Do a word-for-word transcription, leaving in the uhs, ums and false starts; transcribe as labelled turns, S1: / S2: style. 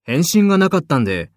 S1: 返信がなかったんで、